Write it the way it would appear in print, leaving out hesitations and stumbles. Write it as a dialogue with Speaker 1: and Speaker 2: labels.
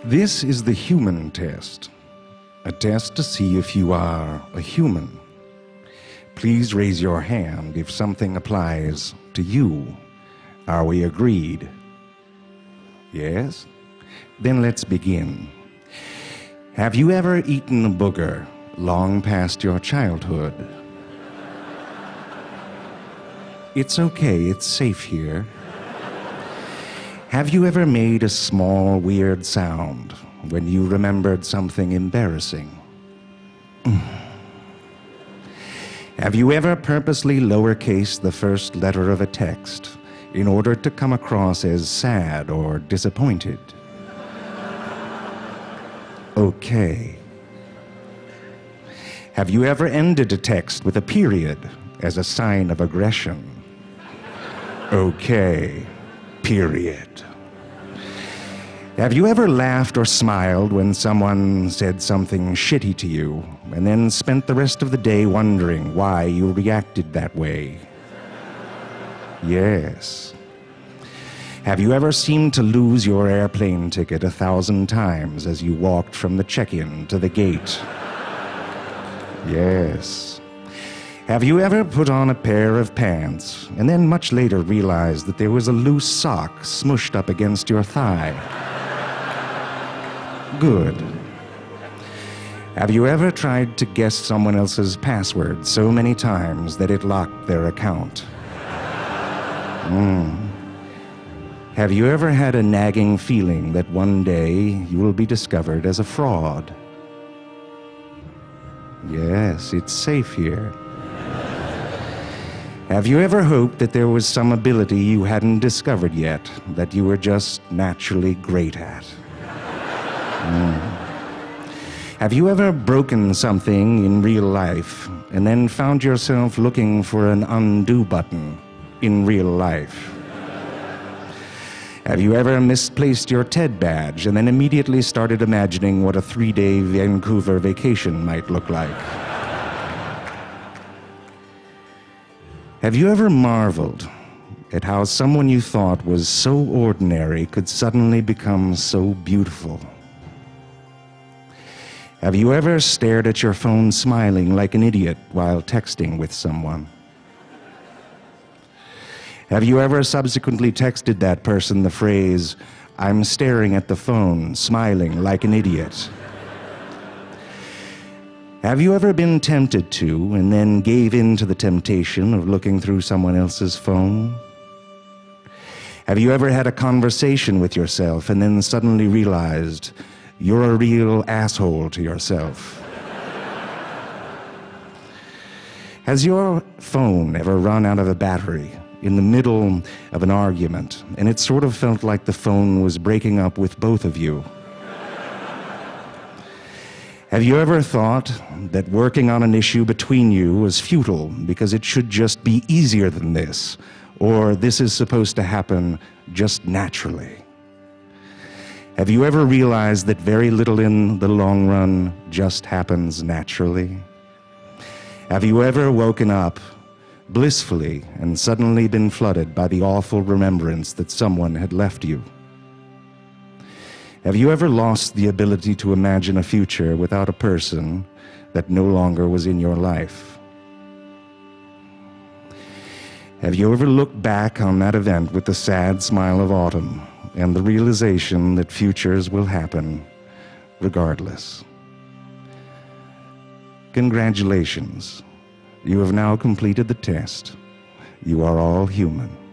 Speaker 1: This is the human test, a test to see if you are a human. Please raise your hand if something applies to you. Are we agreed? Yes? Then let's begin. Have you ever eaten a booger long past your childhood? It's okay, it's safe here. Have you ever made a small, weird sound when you remembered something embarrassing? Have you ever purposely lowercased the first letter of a text in order to come across as sad or disappointed? Okay. Have you ever ended a text with a period as a sign of aggression? Okay. Period. Have you ever laughed or smiled when someone said something shitty to you and then spent the rest of the day wondering why you reacted that way? Yes. Have you ever seemed to lose your airplane ticket 1,000 times as you walked from the check-in to the gate? Yes. Have you ever put on a pair of pants and then much later realized that there was a loose sock smushed up against your thigh? Good. Have you ever tried to guess someone else's password so many times that it locked their account? Have you ever had a nagging feeling that one day you will be discovered as a fraud? Yes, it's safe here. Have you ever hoped that there was some ability you hadn't discovered yet that you were just naturally great at? Have you ever broken something in real life and then found yourself looking for an undo button in real life? Have you ever misplaced your TED badge and then immediately started imagining what a 3-day Vancouver vacation might look like? Have you ever marveled at how someone you thought was so ordinary could suddenly become so beautiful? Have you ever stared at your phone smiling like an idiot while texting with someone? Have you ever subsequently texted that person the phrase, "I'm staring at the phone, smiling like an idiot"? Have you ever been tempted to and then gave in to the temptation of looking through someone else's phone? Have you ever had a conversation with yourself and then suddenly realized you're a real asshole to yourself? Has your phone ever run out of a battery in the middle of an argument and it sort of felt like the phone was breaking up with both of you? Have you ever thought that working on an issue between you was futile because it should just be easier than this, or this is supposed to happen just naturally? Have you ever realized that very little in the long run just happens naturally? Have you ever woken up blissfully and suddenly been flooded by the awful remembrance that someone had left you? Have you ever lost the ability to imagine a future without a person that no longer was in your life? Have you ever looked back on that event with the sad smile of autumn and the realization that futures will happen regardless? Congratulations. You have now completed the test. You are all human.